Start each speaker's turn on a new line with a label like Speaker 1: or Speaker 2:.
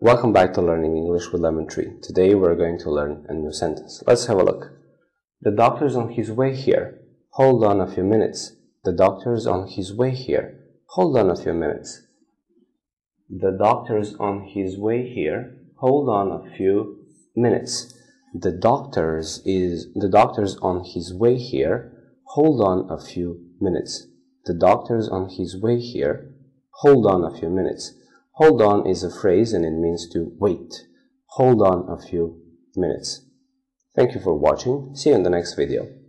Speaker 1: Welcome back to Learning English with Lemon Tree. Today we're going to learn a new sentence. Let's have a look. The doctor's on his way here. Hold on a few minutes. The doctor's on his way here. Hold on a few minutes. The doctor's on his way here. Hold on a few minutes. The doctor's on his way here. Hold on a few minutes. The doctor's on his way here. Hold on a few minutes. Hold on is a phrase and it means to wait. Hold on a few minutes. Thank you for watching. See you in the next video.